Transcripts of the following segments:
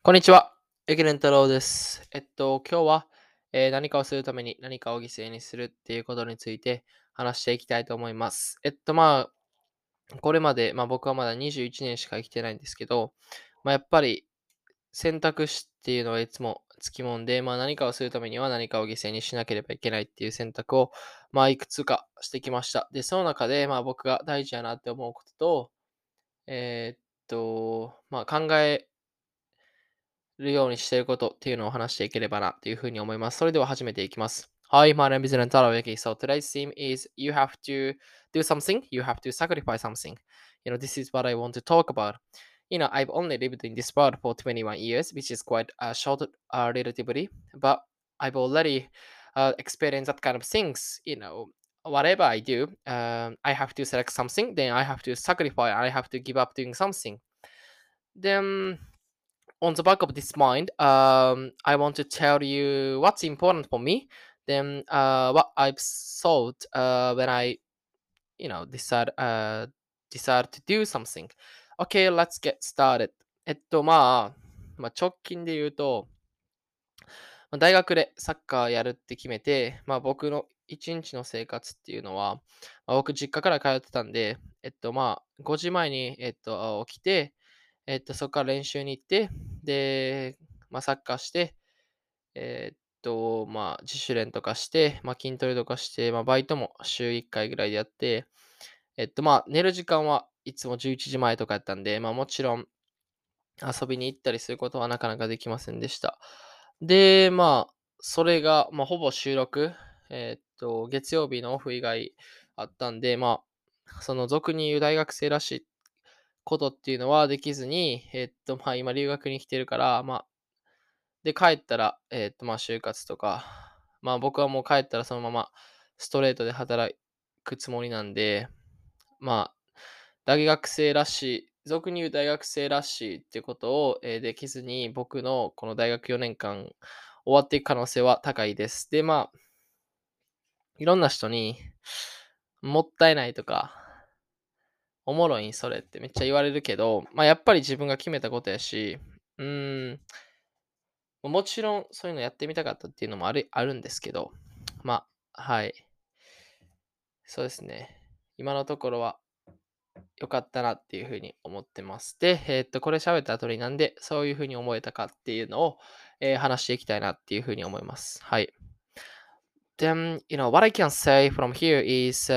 こんにちは。エケレン太郎です。今日は、何かをするために何かを犠牲にするっていうことについて話していきたいと思います。これまで、僕はまだ21年しか生きてないんですけど、やっぱり選択肢っていうのはいつもつきもんで、何かをするためには何かを犠牲にしなければいけないっていう選択を、いくつかしてきました。で、その中で、僕が大事やなって思うことと、考えるようにしていることっていうのを話していければなというふうに思います。それでは始めていきます。Hi, my name is Rentaro Yuki. So today's theme is you have to do something, you have to sacrifice something. This is what I want to talk about. I've only lived in this world for 21 years, which is quite short relatively, but I've already experienced that kind of things. Whatever I do, I have to select something, then I have to sacrifice, I have to give up doing something. Then on the back of this mind, I want to tell you what's important for me. Then what I've thought when I, decide to do something. Okay, let's get started. 直近で言うと、大学でサッカーやるって決めて、僕の一日の生活っていうのは、僕実家から通ってたんで、5時前に、起きて、そこから練習に行って、で、サッカーして、自主練とかして、筋トレとかして、バイトも週1回ぐらいでやって、寝る時間はいつも11時前とかやったんで、もちろん遊びに行ったりすることはなかなかできませんでした。で、それが、ほぼ週6、月曜日のオフ以外あったんで、その俗に言う大学生らしいことっていうのはできずに、今留学に来てるから、で、帰ったら、就活とか、僕はもう帰ったらそのままストレートで働くつもりなんで、まあ、大学生らしい、俗に言う大学生らしいっていうことを、できずに、僕のこの大学4年間終わっていく可能性は高いです。で、いろんな人に、もったいないとか、おもろいんそれってめっちゃ言われるけど、やっぱり自分が決めたことやし、うーん、もちろんそういうのやってみたかったっていうのもあるんですけど、はい。そうですね。今のところは良かったなっていうふうに思ってます。で、これ喋った後になんでそういうふうに思えたかっていうのを、話していきたいなっていうふうに思います。はい。Then, what I can say from here is,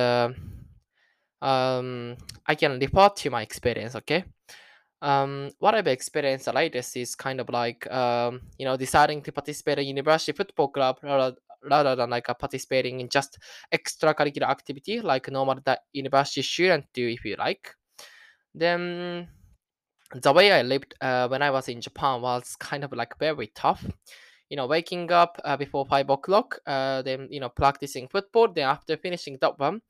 I can report to my experience, okay? What I've experienced the latest is kind of like, deciding to participate in university football club rather than like participating in just extracurricular activity like normal that university student do if you like. Then the way I lived when I was in Japan was kind of like very tough. Waking up before 5 o'clock, then practicing football. Then after finishing that one,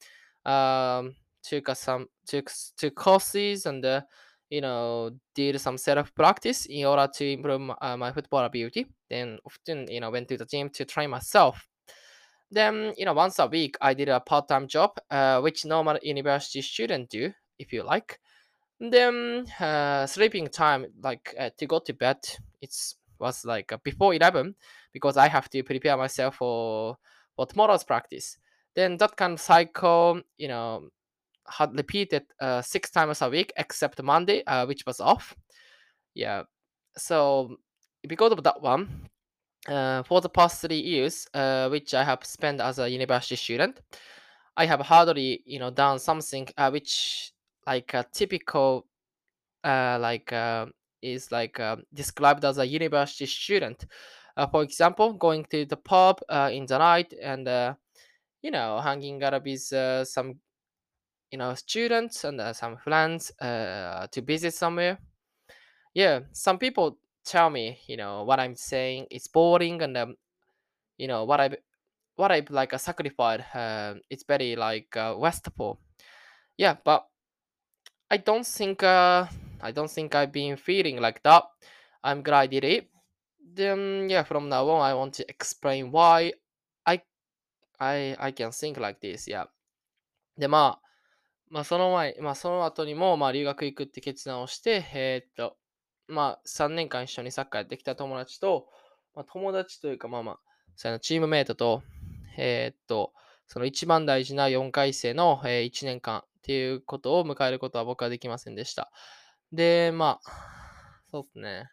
took courses and did some self practice in order to improve my football ability. Then often went to the gym to train myself. Then once a week I did a part time job, which normal university student do if you like. Then sleeping time, like to go to bed, it's was like before 11 because I have to prepare myself for tomorrow's practice. Then that kind of cycle, had repeated 6 times a week except Monday, which was off. Yeah. So because of that one, for the past 3 years, which I have spent as a university student, I have hardly, done something which like a typical like is like described as a university student. For example, going to the pub in the night and hanging out with some students and some friends to visit somewhere. Yeah, some people tell me what I'm saying is boring and what I like sacrificed. It's very like wasteful. Yeah, but I don't think I've been feeling like that. I'm glad I did it. Then yeah, from now on I want to explain why I I can think like this. Yeah. でその前、その後にも留学行くって決断をして、 まあ、3年間一緒にサッカーやってきた友達と、まあ、友達というか、そのチームメイトと、その一番大事な4回生の、1年間っていうことを迎えることは僕はできませんでした。で、そうですね。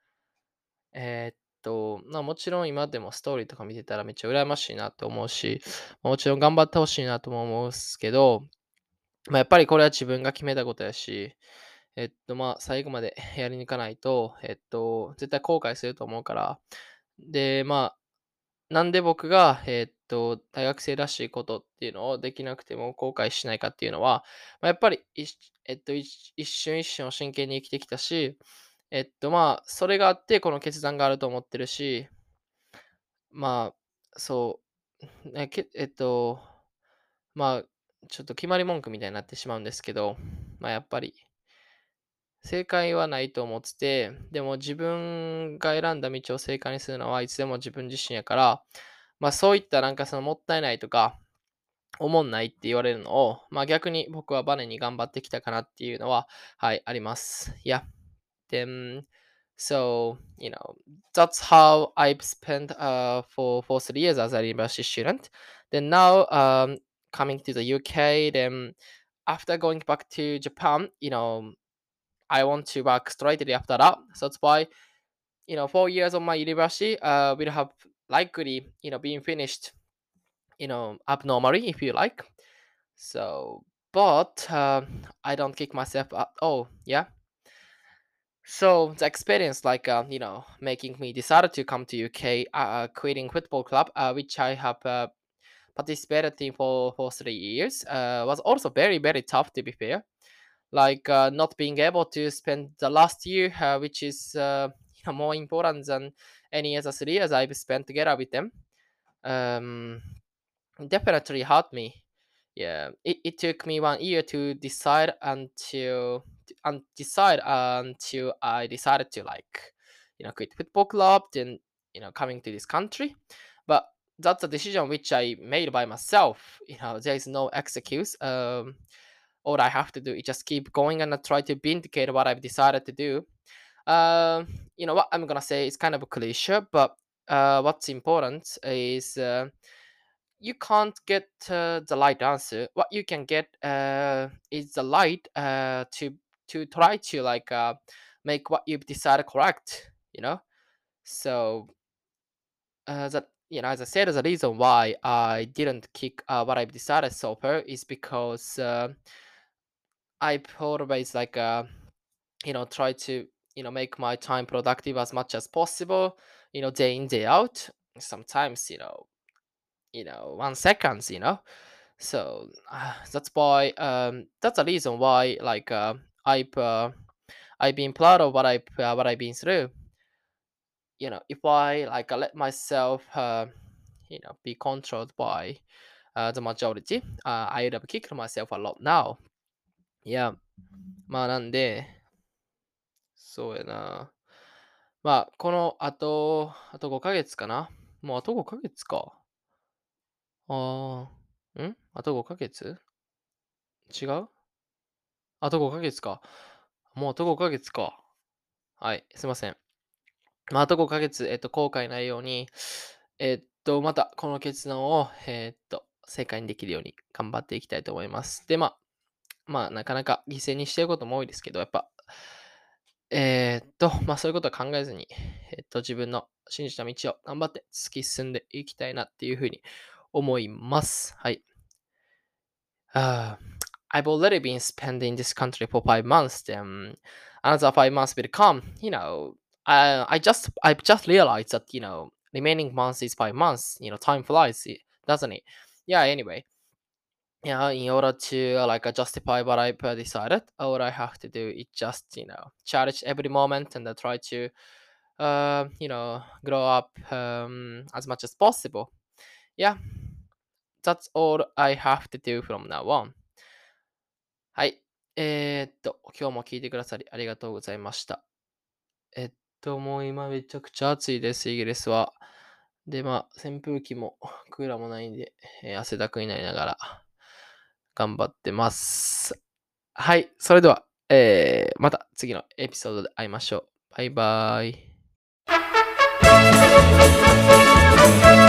もちろん今でもストーリーとか見てたらめっちゃ羨ましいなって思うし、もちろん頑張ってほしいなとも思うんすけど、やっぱりこれは自分が決めたことやし、最後までやりに行かないと、絶対後悔すると思うから、で、なんで僕が、大学生らしいことっていうのをできなくても後悔しないかっていうのは、やっぱり、一瞬一瞬を真剣に生きてきたし、それがあってこの決断があると思ってるし、まそう、ね、けえっと、まあ、ちょっと決まり文句みたいになってしまうんですけど、やっぱり正解はないと思ってて、でも自分が選んだ道を正解にするのはいつでも自分自身やから、そういったなんかそのもったいないとか、おもんないって言われるのを、逆に僕はバネに頑張ってきたかなっていうのは、はい、あります。Yeah. Then, so, that's how I've spent for 3 years as a university student. Then now, coming to the UK, then after going back to Japan, I want to work straightly after that. So that's why, 4 years of my university will have likely, being finished, abnormally, if you like. So, but I don't kick myself up. Oh, yeah. So the experience, like making me decided to come to UK, quitting football club, which I have participated in for 3 years, was also very very tough to be fair. Like not being able to spend the last year, which is more important than any other 3 years I've spent together with them. Um, Definitely hurt me. Yeah, it took me 1 year to decide until I decided to like, quit football club, then coming to this country. But that's a decision which I made by myself. There is no excuse. All I have to do is just keep going and try to vindicate what I've decided to do. What I'm gonna say is kind of a cliche, but what's important is you can't get the right answer. What you can get is the light to try to like make what you've decided correct. So that as I said, the reason why I didn't kick what I've decided so far is because I've always like try to make my time productive as much as possible. Day in day out. Sometimes 1 seconds. So that's a reason why like I've been proud of what I've been through. If I like let myself be controlled by the majority, I would have kicked myself a lot now. Yeah. なんで、そうやな。あと5ヶ月かな。もうあと5ヶ月か。あと5ヶ月違うあと5ヶ月か。もうあと5ヶ月か。はい、すいません。あと5ヶ月、後悔ないように、またこの決断を、正解にできるように頑張っていきたいと思います。で、なかなか犠牲にしていることも多いですけど、やっぱ、そういうことは考えずに、自分の信じた道を頑張って突き進んでいきたいなっていうふうに思います。はい。Uh, I've already been spending this country for 5 months. Then another 5 months will come. I've just realized that remaining months is 5 months. Time flies, doesn't it? Yeah. Anyway, yeah. In order to like justify what I've decided, all I have to do is just cherish every moment and try to grow up as much as possible. Yeah, that's all I have to do from now on. はい。今日も聞いてくださりありがとうございました。もう今めちゃくちゃ暑いです、イギリスは。で、扇風機もクーラーもないんで、汗だくになりながら頑張ってます。はい。それでは、また次のエピソードで会いましょう。 バイバイ。